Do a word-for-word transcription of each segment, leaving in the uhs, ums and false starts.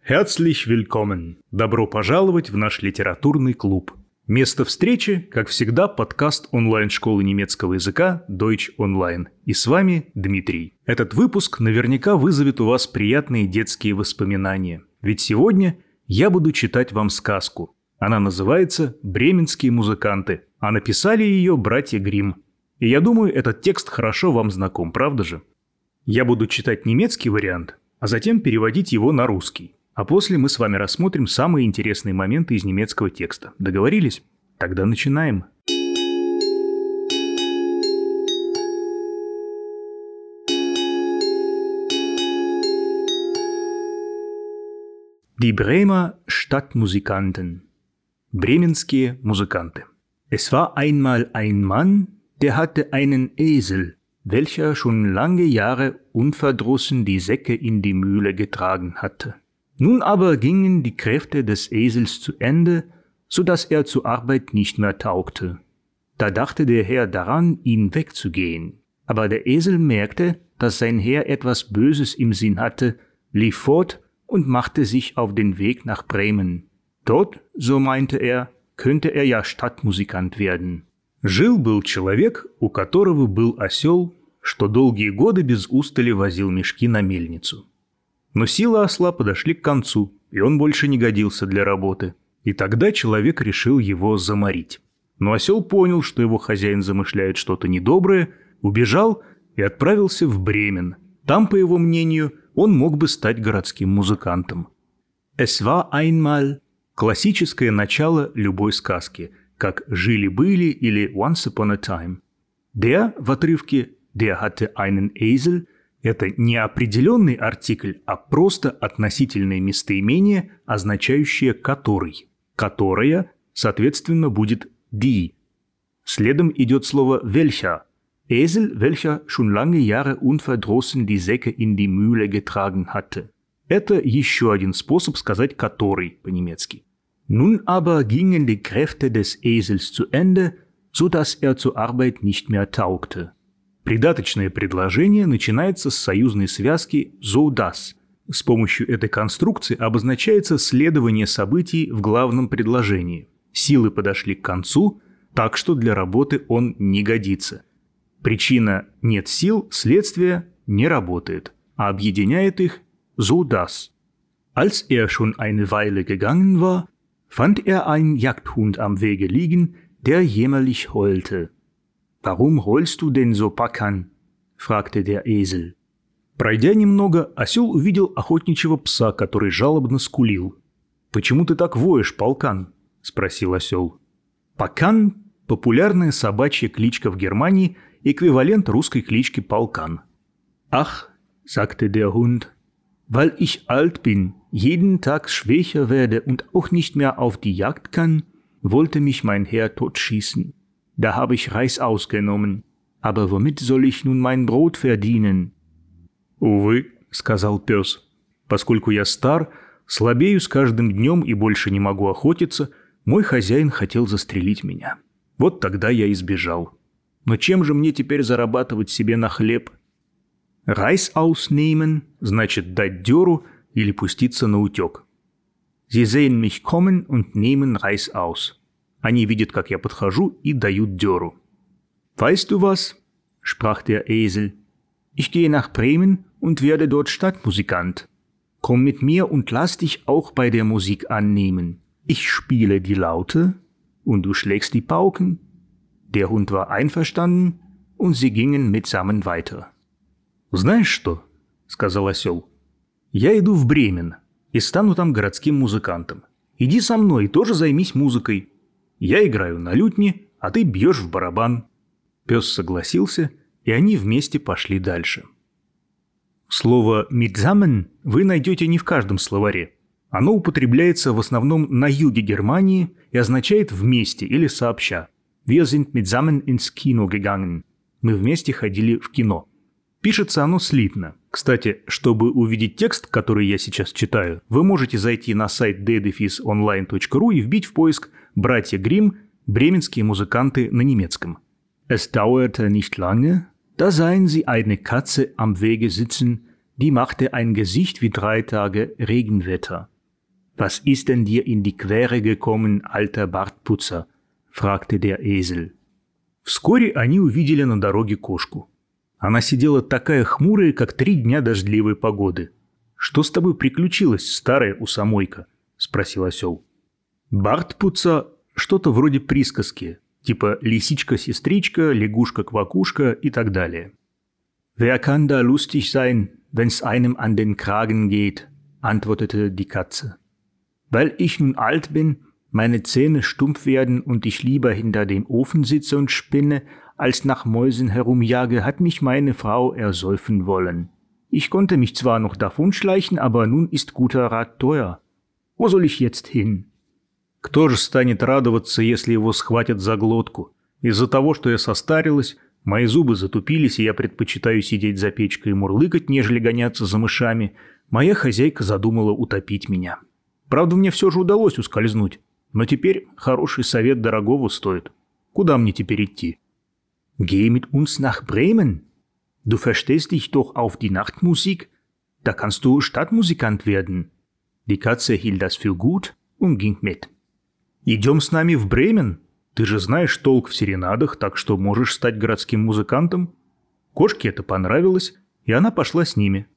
Herzlich willkommen! Добро пожаловать в наш литературный клуб. Место встречи, как всегда, подкаст онлайн-школы немецкого языка Deutsch Online. И с вами Дмитрий. Этот выпуск наверняка вызовет у вас приятные детские воспоминания. Ведь сегодня я буду читать вам сказку. Она называется «Бременские музыканты», а написали ее братья Гримм. И я думаю, этот текст хорошо вам знаком, правда же? Я буду читать немецкий вариант, а затем переводить его на русский. А после мы с вами рассмотрим самые интересные моменты из немецкого текста. Договорились? Тогда начинаем. Die Bremer Stadtmusikanten. Бременские музыканты. Es war einmal ein Mann, der hatte einen Esel, welcher schon lange Jahre unverdrossen die Säcke in die Mühle getragen hatte. Nun aber gingen die Kräfte des Esels zu Ende, so dass er zur Arbeit nicht mehr taugte. Da dachte der Herr daran, ihn wegzugehen. Aber der Esel merkte, dass sein Herr etwas Böses im Sinn hatte, lief fort und machte sich auf den Weg nach Bremen. Dort, so meinte er, könnte er ja Stadtmusikant werden. Жил-был человек, у которого был осел, что долгие годы без устали возил мешки на мельницу. Но силы осла подошли к концу, и он больше не годился для работы. И тогда человек решил его заморить. Но осел понял, что его хозяин замышляет что-то недоброе, убежал и отправился в Бремен. Там, по его мнению, он мог бы стать городским музыкантом. Es war einmal – классическое начало любой сказки, как «Жили-были» или «Once upon a time». Der в отрывке «Der hatte einen Esel» – это не определенный артикль, а просто относительное местоимение, означающее «который». «Которая», соответственно, будет «die». Следом идет слово «welcher». Esel, welcher schon lange Jahre unverdrossen die Säcke in die Mühle getragen hatte. Это еще один способ сказать «который» по-немецки. Nun aber gingen die Kräfte des Esels zu Ende, so dass er zur Arbeit nicht mehr taugte. Придаточное предложение начинается с союзной связки so dass. С помощью этой конструкции обозначается следование событий в главном предложении. Силы подошли к концу, так что для работы он не годится. Причина «нет сил», следствие «не работает», а объединяет их so dass. Als er schon eine Weile gegangen war, fand er einen Jagdhund am Wege liegen, der jämmerlich heulte. «Warum heulst du denn so, Pakan?» – fragte der Esel. Пройдя немного, осел увидел охотничьего пса, который жалобно скулил. «Почему ты так воешь, Полкан?» – спросил осел. Пакан – популярная собачья кличка в Германии, эквивалент русской клички Полкан. «Ach», – sagte der Hund, «weil ich alt bin, jeden Tag schwächer werde und auch nicht mehr auf die Jagd kann, wollte mich mein Herr totschießen. Da habe ich Reis ausgenommen. Aber womit soll ich nun mein Brot verdienen?» «Увы», — сказал пес, — «поскольку я стар, слабею с каждым днем и больше не могу охотиться, мой хозяин хотел застрелить меня. Вот тогда я и сбежал. Но чем же мне теперь зарабатывать себе на хлеб?» «Reis ausnehmen» значит дать дёру или пуститься на утёк. «Sie sehen mich kommen und nehmen Reis aus». Они видят, как я подхожу, и дают дёру. «Weißt du was?» – sprach der Esel. «Ich gehe nach Bremen und werde dort Stadtmusikant. Komm mit mir und lass dich auch bei der Musik annehmen. Ich spiele die Laute und du schlägst die Pauken.» Der Hund war einverstanden, und sie gingen mitsammen weiter. «Знаешь что?» – сказал осел. «Я иду в Бремен и стану там городским музыкантом. Иди со мной и тоже займись музыкой. Я играю на лютне, а ты бьешь в барабан». Пес согласился, и они вместе пошли дальше. Слово «mitsammen» вы найдете не в каждом словаре. Оно употребляется в основном на юге Германии и означает «вместе» или «сообща». «Wir sind mitsammen ins Kino gegangen». Мы вместе ходили в кино. Пишется оно слитно. Кстати, чтобы увидеть текст, который я сейчас читаю, вы можете зайти на сайт ди дефис онлайн точка ру и вбить в поиск «Братья Гримм. Бременские музыканты» на немецком. Es dauerte nicht lange, da sahen sie eine Katze am Wege sitzen, die machte ein Gesicht wie drei Tage Regenwetter. Was ist denn dir in die Quere gekommen, alter Bartputzer? Fragte der Esel. Вскоре они увидели на дороге кошку. Она сидела такая хмурая, как три дня дождливой погоды. «Что с тобой приключилось, старая усомойка?» – спросил осел. Бартпутца – что-то вроде присказки, типа лисичка-сестричка, лягушка-квакушка и так далее. «Wer kann da lustig sein, wenn's einem an den Kragen geht?» – antwortete die Katze. «Weil ich nun alt bin, meine Zähne stumpf werden und ich lieber hinter dem Ofen sitze und spinne, als nach Mäusen herumjage, hat mich meine Frau ersäufen wollen. Ich konnte mich zwar noch davonschleichen, aber nun ist guter Rat teuer. Wo soll ich jetzt hin?» Кто же станет радоваться, если его схватят за глотку? Из-за того, что я состарилась, мои зубы затупились, и я предпочитаю сидеть за печкой и мурлыкать, нежели гоняться за мышами, моя хозяйка задумала утопить меня. Правда, мне все же удалось ускользнуть, но теперь хороший совет дорогого стоит. Куда мне теперь идти? «Geh mit uns nach Bremen. Du verstehst dich doch auf die Nachtmusik. Da kannst du Stadtmusikant werden.» Die Katze hielt das für gut und ging mit. «Идем с нами в Бремен? Ты же знаешь толк в серенадах, так что можешь стать городским музыкантом». Кошке это понравилось, и она пошла с ними.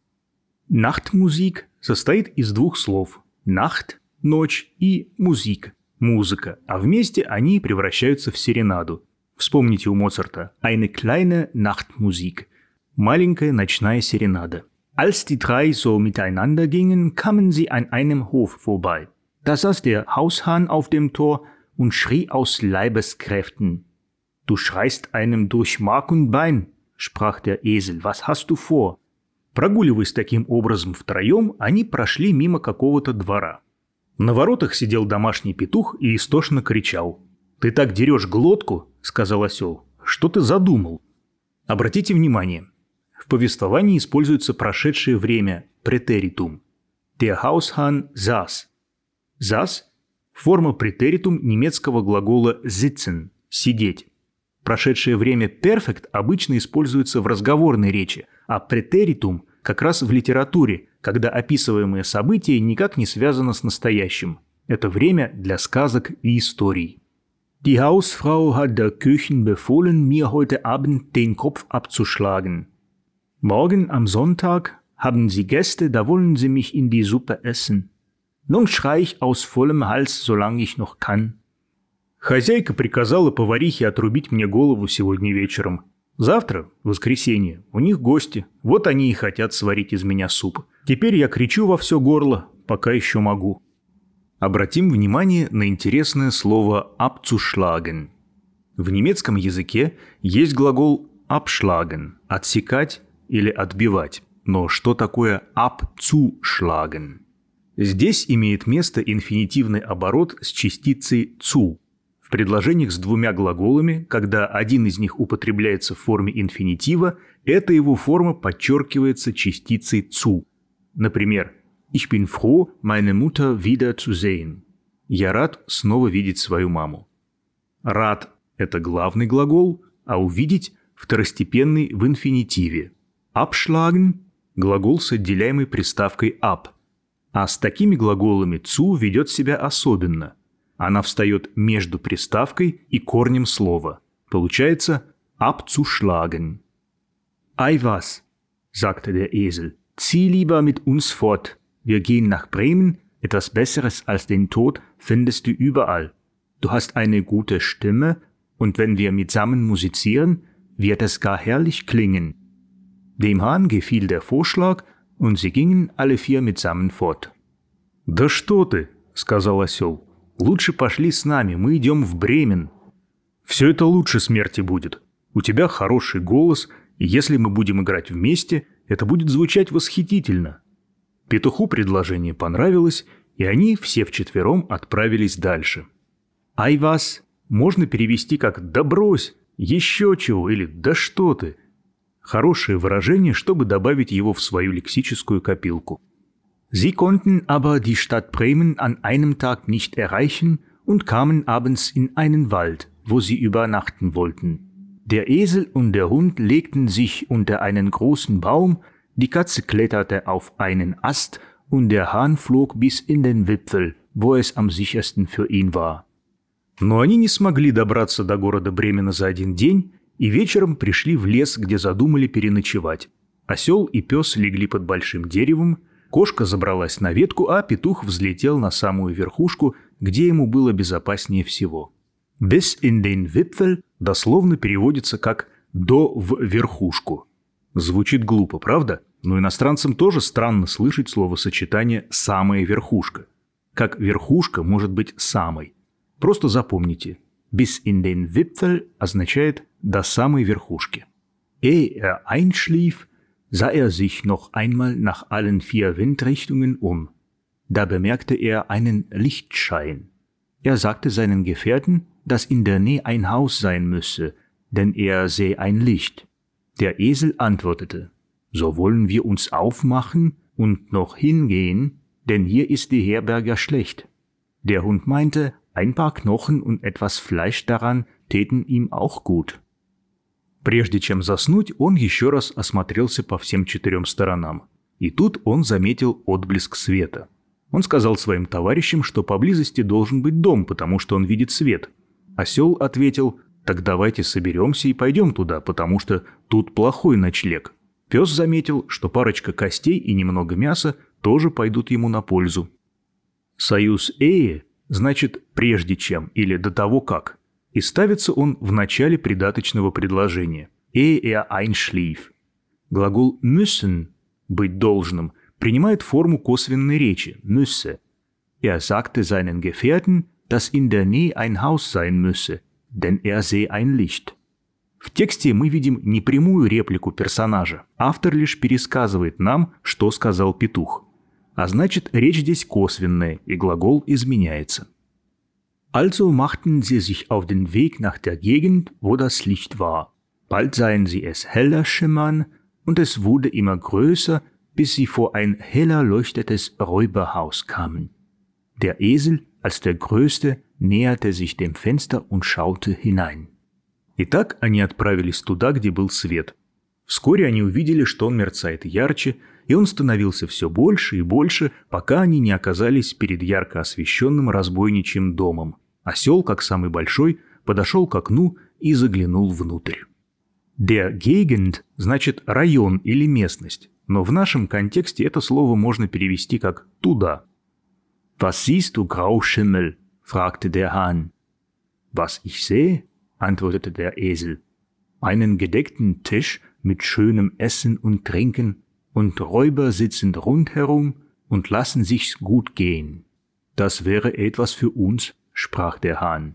Nachtmusik состоит из двух слов «Nacht» – «ночь» и «Musik» – «музыка», а вместе они превращаются в серенаду. Вспомните у Моцарта «Eine kleine Nachtmusik» – «маленькая ночная серенада». Als die drei so miteinander gingen, kamen sie an einem Hof vorbei. Da saß der Haushahn auf dem Tor und schrie aus Leibeskräften. »Du schreist einem durch Mark und Bein«, sprach der Esel, «was hast du vor?» Прогуливаясь таким образом втроем, они прошли мимо какого-то двора. На воротах сидел домашний петух и истошно кричал. «Ты так дерешь глотку», — сказал осел, — «что ты задумал?» Обратите внимание, в повествовании используется прошедшее время претеритум. Der Haushahn saß. Saß – форма претеритум немецкого глагола sitzen – сидеть. Прошедшее время perfect обычно используется в разговорной речи, а претеритум как раз в литературе, когда описываемое событие никак не связано с настоящим. Это время для сказок и историй. Die Hausfrau hat der Köchin befohlen, mir heute Abend den Kopf abzuschlagen. Morgen am Sonntag haben Sie Gäste, da wollen Sie mich in die Suppe essen. Nun schrei ich aus vollem Hals, solange ich noch kann. Хозяйка приказала поварихе отрубить мне голову сегодня вечером. Завтра, воскресенье, у них гости. Вот они и хотят сварить из меня суп. Теперь я кричу во все горло, пока еще могу. Обратим внимание на интересное слово «abzuschlagen». В немецком языке есть глагол «abschlagen» – «отсекать» или «отбивать». Но что такое «abzuschlagen»? Здесь имеет место инфинитивный оборот с частицей «zu». В предложениях с двумя глаголами, когда один из них употребляется в форме инфинитива, эта его форма подчеркивается частицей «zu». Например, «Ich bin froh, meine Mutter wieder zu sehen». Я рад снова видеть свою маму. «Рад» — это главный глагол, а «увидеть» — второстепенный в инфинитиве. «Abschlagen» — глагол с отделяемой приставкой «ab». А с такими глаголами «zu» ведет себя особенно. Она встает между приставкой и корнем слова. Получается «abzuschlagen». «Ei was», sagte der Esel, «zieh lieber mit uns fort. Wir gehen nach Bremen. Etwas Besseres als den Tod findest du überall. Du hast eine gute Stimme und wenn wir mitsammen musizieren, wird es gar herrlich klingen.» Dem Hahn gefiel der Vorschlag, und sie gingen alle vier mitsammen fort. «Да что ты», — сказал осел, — «лучше пошли с нами, мы идем в Бремен. Все это лучше смерти будет. У тебя хороший голос, и если мы будем играть вместе, это будет звучать восхитительно». Петуху предложение понравилось, и они все вчетвером отправились дальше. «Ай вас» можно перевести как «да брось», «еще чего» или «да что ты». Хорошее выражение, чтобы добавить его в свою лексическую копилку. Sie konnten aber die Stadt Bremen an einem Tag nicht erreichen und kamen abends in einen Wald, wo sie übernachten wollten. Der Esel und der Hund legten sich unter einen großen Baum, die Katze kletterte auf einen Ast und der Hahn flog bis in den Wipfel, wo es am sichersten für ihn war. Но они не смогли добраться до города Бремена за один день и вечером пришли в лес, где задумали переночевать. Осел и пес легли под большим деревом, кошка забралась на ветку, а петух взлетел на самую верхушку, где ему было безопаснее всего. «Bis in den Wipfel» дословно переводится как «до в верхушку». Звучит глупо, правда? Но иностранцам тоже странно слышать словосочетание «самая верхушка». Как верхушка может быть самой? Просто запомните. «Bis in den Wipfel» означает «до самой верхушки». Ehe er einschlief, sah er sich noch einmal nach allen vier Windrichtungen um. Da bemerkte er einen Lichtschein. Er sagte seinen Gefährten, dass in der Nähe ein Haus sein müsse, denn er sähe ein Licht. Der Esel antwortete, so wollen wir uns aufmachen und noch hingehen, denn hier ist die Herberge schlecht. Der Hund meinte, ein paar Knochen und etwas Fleisch daran täten ihm auch gut. Прежде чем заснуть, он еще раз осмотрелся по всем четырем сторонам. И тут он заметил отблеск света. Он сказал своим товарищам, что поблизости должен быть дом, потому что он видит свет. Осел ответил, так давайте соберемся и пойдем туда, потому что тут плохой ночлег. Пес заметил, что парочка костей и немного мяса тоже пойдут ему на пользу. Союз «эе» значит «прежде чем» или «до того как». И ставится он в начале придаточного предложения «ehe er einschlief». Глагол «müssen» – «быть должным» принимает форму косвенной речи «müsse». Er sagte seinen Gefährten, dass in der Nähe ein Haus sein müsse, denn er sehe ein Licht. В тексте мы видим не прямую реплику персонажа. Автор лишь пересказывает нам, что сказал петух. А значит, речь здесь косвенная, и глагол изменяется. Also machten sie sich auf den Weg nach der Gegend, wo das Licht war. Bald sahen sie es heller schimmern, und es wurde immer größer, bis sie vor ein heller leuchtetes Räuberhaus kamen. Der Esel, als der Größte, näherte sich dem Fenster und schaute hinein. Итак, они отправились туда, где был свет. Вскоре они увидели, что он мерцает ярче, и он становился все больше и больше, пока они не оказались перед ярко освещенным разбойничьим домом. Осел, как самый большой, подошел к окну и заглянул внутрь. Der Gegend значит район или местность, но в нашем контексте это слово можно перевести как «туда». Was siehst du, Grauschimmel? Fragte der Hahn. Was ich sehe, antwortete der Esel. Einen gedeckten Tisch mit schönem Essen und Trinken, und Räuber sitzen rundherum und lassen sich's gut gehen. Das wäre etwas für uns, sprach der Hahn.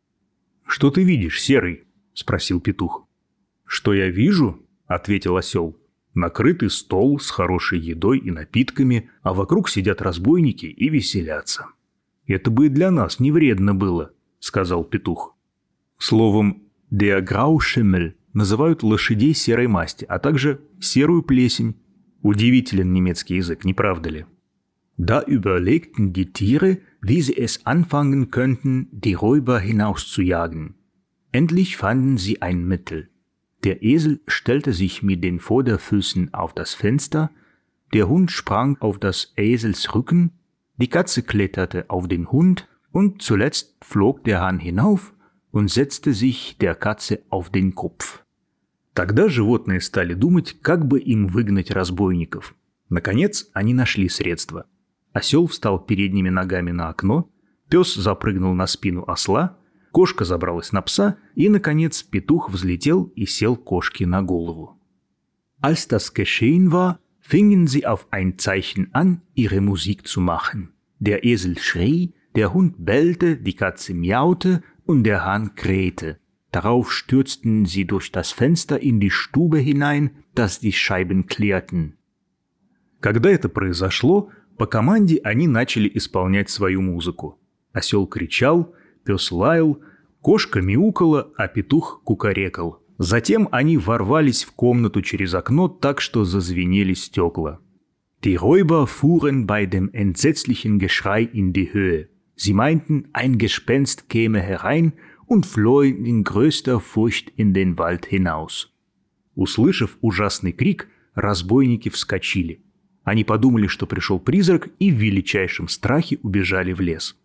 Что ты видишь, Серый? Спросил петух. Что я вижу? Ответил осел. Накрытый стол с хорошей едой и напитками, а вокруг сидят разбойники и веселятся. Это бы и для нас не вредно было, сказал петух. Словом, der Grauschimmel называют лошадей серой масти, а также серую плесень. Удивителен немецкий язык, не правда ли? Da überlegten die Tiere, wie sie es anfangen könnten, die Räuber hinauszujagen. Endlich fanden sie ein Mittel. Der Esel stellte sich mit den Vorderfüßen auf das Fenster, der Hund sprang auf das Esels Rücken, die Katze kletterte auf den Hund und zuletzt flog der Hahn hinauf und setzte sich der Katze auf den Kopf. Тогда животные стали думать, как бы им выгнать разбойников. Наконец, они нашли средства. Осел встал передними ногами на окно, пес запрыгнул на спину осла, кошка забралась на пса, и, наконец, петух взлетел и сел кошке на голову. Als das geschehen war, fingen sie auf ein Zeichen an, ihre Musik zu machen. Der Esel schrie, der Hund bellte, die Katze miaute und der Hahn krähte. Darauf stürzten sie durch das Fenster in die Stube hinein, dass die Scheiben klirrten. Когда это произошло, по команде они начали исполнять свою музыку. Осел кричал, пес лаял, кошка мяукала, а петух кукарекал. Затем они ворвались в комнату через окно так, что зазвенели стекла. Die Räuber fuhren bei dem entsetzlichen Geschrei in die Höhe. Sie meinten, ein Gespenst käme herein und flohen in größter Furcht in den Wald hinaus. Услышав ужасный крик, разбойники вскочили. Они подумали, что пришел призрак, и в величайшем страхе убежали в лес.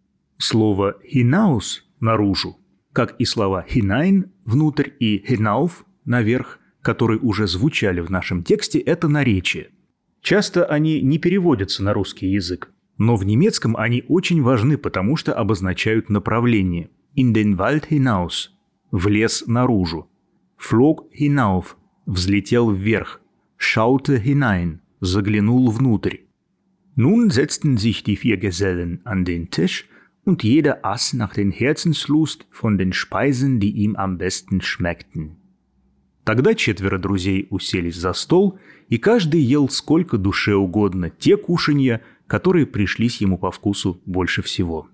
Слово «hinaus» – «наружу», как и слова «hinein» – «внутрь» и «hinauf» – «наверх», которые уже звучали в нашем тексте, это наречия. Часто они не переводятся на русский язык, но в немецком они очень важны, потому что обозначают направление. In den Wald hinaus – в лес наружу. Flog hinauf – взлетел вверх. Schaute hinein – заглянул внутрь. Nun setzten sich die vier Gesellen an den Tisch und jeder aß nach den Herzenslust von den Speisen, die ihm am besten schmeckten. Тогда четверо друзей уселись за стол, и каждый ел сколько душе угодно те кушанья, которые пришлись ему по вкусу больше всего.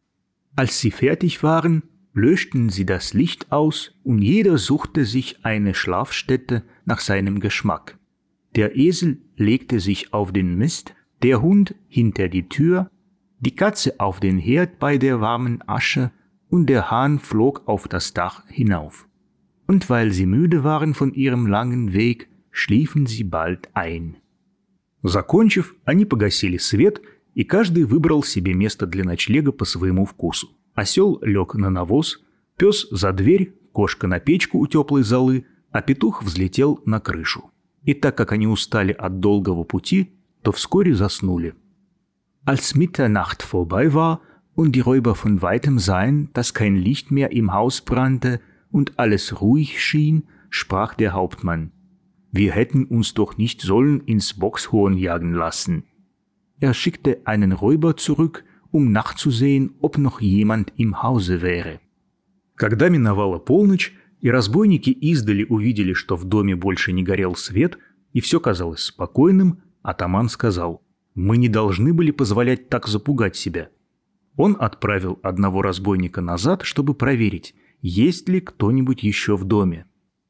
Als sie fertig waren, löschten sie das Licht aus und jeder suchte sich eine Schlafstätte nach seinem Geschmack. Der Esel legte sich auf den Mist, der Hund hinter die Tür, die Katze auf den Herd bei der warmen Asche und der Hahn flog auf das Dach hinauf. Und weil sie müde waren von ihrem langen Weg, schliefen sie bald ein. Закончив, они погасили свет, и каждый выбрал себе место для ночлега по своему вкусу. Осел лег на навоз, пес за дверь, кошка на печку у теплой золы, а петух взлетел на крышу. И так как они устали от долгого пути, то вскоре заснули. Als Mitternacht vorbei war und die Räuber von weitem sahen, dass kein Licht mehr im Haus brannte und alles ruhig schien, sprach der Hauptmann: Wir hätten uns doch nicht sollen ins Bockshorn jagen lassen. Er schickte einen Räuber zurück, um nachzusehen, ob noch jemand im Hause wäre. Когда миновала полночь, и разбойники издали увидели, что в доме больше не горел свет, и все казалось спокойным, атаман сказал: «Мы не должны были позволять так запугать себя». Он отправил одного разбойника назад, чтобы проверить, есть ли кто-нибудь еще в доме.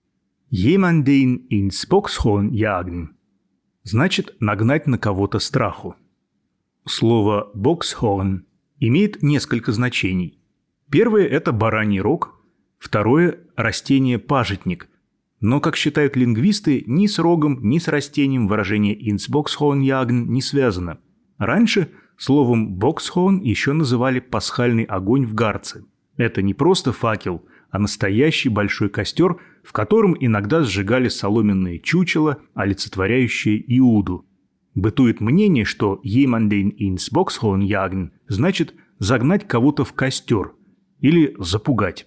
«Jemanden ins Bockshorn jagen» значит нагнать на кого-то страху. Слово «bockshorn» имеет несколько значений. Первое – это бараний рог, второе – растение пажитник. Но, как считают лингвисты, ни с рогом, ни с растением выражение ins Bockshorn jagen не связано. Раньше словом «bockshorn» еще называли пасхальный огонь в гарце. Это не просто факел, а настоящий большой костер, в котором иногда сжигали соломенные чучела, олицетворяющие Иуду. Бытует мнение, что «jemanden ins Bockshorn jagen» значит «загнать кого-то в костер» или «запугать».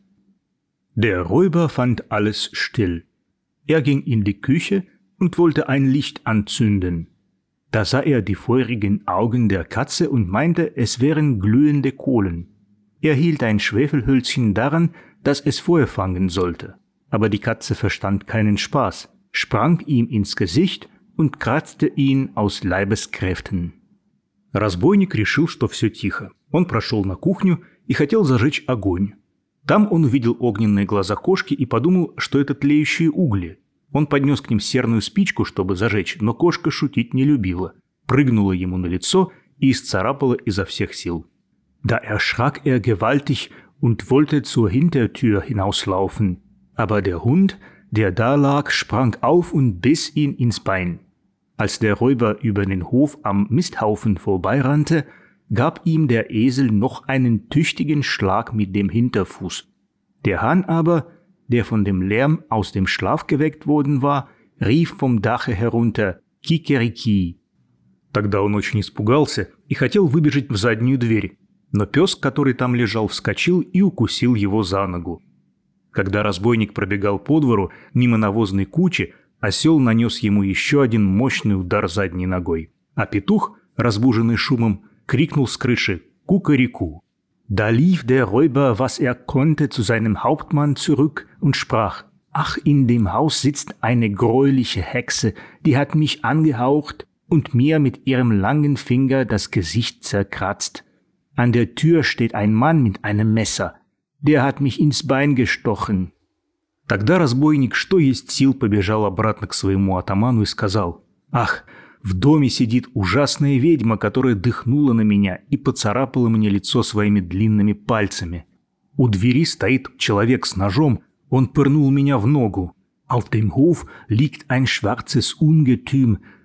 Der Räuber fand alles still. Er ging in die Küche und wollte ein Licht anzünden. Da sah er die feurigen Augen der Katze und meinte, es wären glühende Kohlen. Er hielt ein Schwefelhölzchen daran, dass es Feuer fangen sollte. Aber die Katze verstand keinen Spaß, sprang ihm ins Gesicht und kratzte ihn aus Leibeskräften. Разбойник решил, что все тихо. Он прошел на кухню и хотел зажечь огонь. Там он увидел огненные глаза кошки и подумал, что это тлеющие угли. Он поднес к ним серную спичку, чтобы зажечь, но кошка шутить не любила. Прыгнула ему на лицо и исцарапала изо всех сил. Da erschrak er gewaltig und wollte zur Hintertür hinauslaufen. Aber der Hund, der da lag, sprang auf und biss ihn ins Bein. Als der Räuber über den Hof am Misthaufen vorbeirannte, gab ihm der Esel noch einen tüchtigen Schlag mit dem Hinterfuß. Der Hahn aber, der von dem Lärm aus dem Schlaf geweckt worden war, rief vom Dache herunter «Кикерики». Тогда он очень испугался и хотел выбежать в заднюю дверь, но пес, который там лежал, вскочил и укусил его за ногу. Когда разбойник пробегал по двору мимо навозной кучи, осел нанес ему еще один мощный удар задней ногой, а петух, разбуженный шумом, крикнул с крыши «Кукареку». Da lief der Räuber, was er konnte, zu seinem Hauptmann zurück und sprach: Ach, in dem Haus sitzt eine greuliche Hexe, die hat mich angehaucht und mir mit ihrem langen Finger das Gesicht zerkratzt. An der Tür steht ein Mann mit einem Messer, der hat mich ins Bein gestochen. Тогда разбойник, что есть сил, побежал обратно к своему атаману и сказал: «Ах, в доме сидит ужасная ведьма, которая дыхнула на меня и поцарапала мне лицо своими длинными пальцами. У двери стоит человек с ножом, он пырнул меня в ногу. Auf dem Hof liegt ein schwarzes Ungetüm,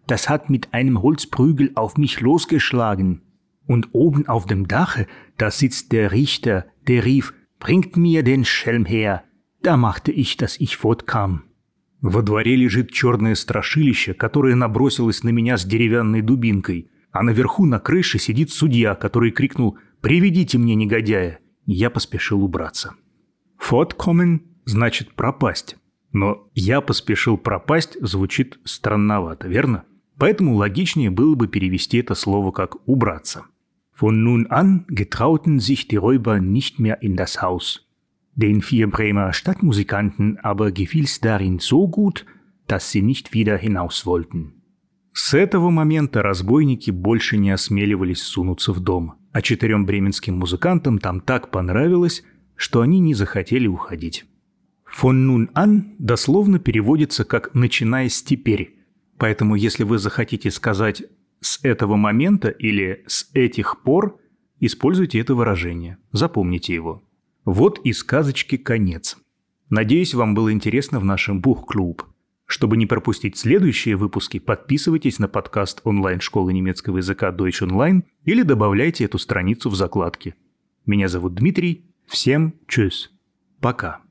das hat mit einem Holzprügel auf mich losgeschlagen. Und oben auf dem Dache, da sitzt der Richter, der rief, bringt mir den Schelm her. Da machte ich, dass ich fortkam. Во дворе лежит черное страшилище, которое набросилось на меня с деревянной дубинкой, а наверху на крыше сидит судья, который крикнул «Приведите мне негодяя!» Я поспешил убраться. Fortkommen значит пропасть, но «я поспешил пропасть» звучит странновато, верно? Поэтому логичнее было бы перевести это слово как «убраться». Von nun an getrauten sich die Räuber nicht mehr in das Haus. Den vier Bremer Stadtmusikanten aber gefiel's darin so gut, dass sie nicht wieder hinaus wollten. С этого момента разбойники больше не осмеливались сунуться в дом, а четырем бременским музыкантам там так понравилось, что они не захотели уходить. Von nun an дословно переводится как «начиная с теперь», поэтому если вы захотите сказать «с этого момента» или «с этих пор», используйте это выражение, запомните его. Вот и сказочке конец. Надеюсь, вам было интересно в нашем Buchclub. Чтобы не пропустить следующие выпуски, подписывайтесь на подкаст онлайн-школы немецкого языка Deutsch Online или добавляйте эту страницу в закладки. Меня зовут Дмитрий. Всем tschüss. Пока.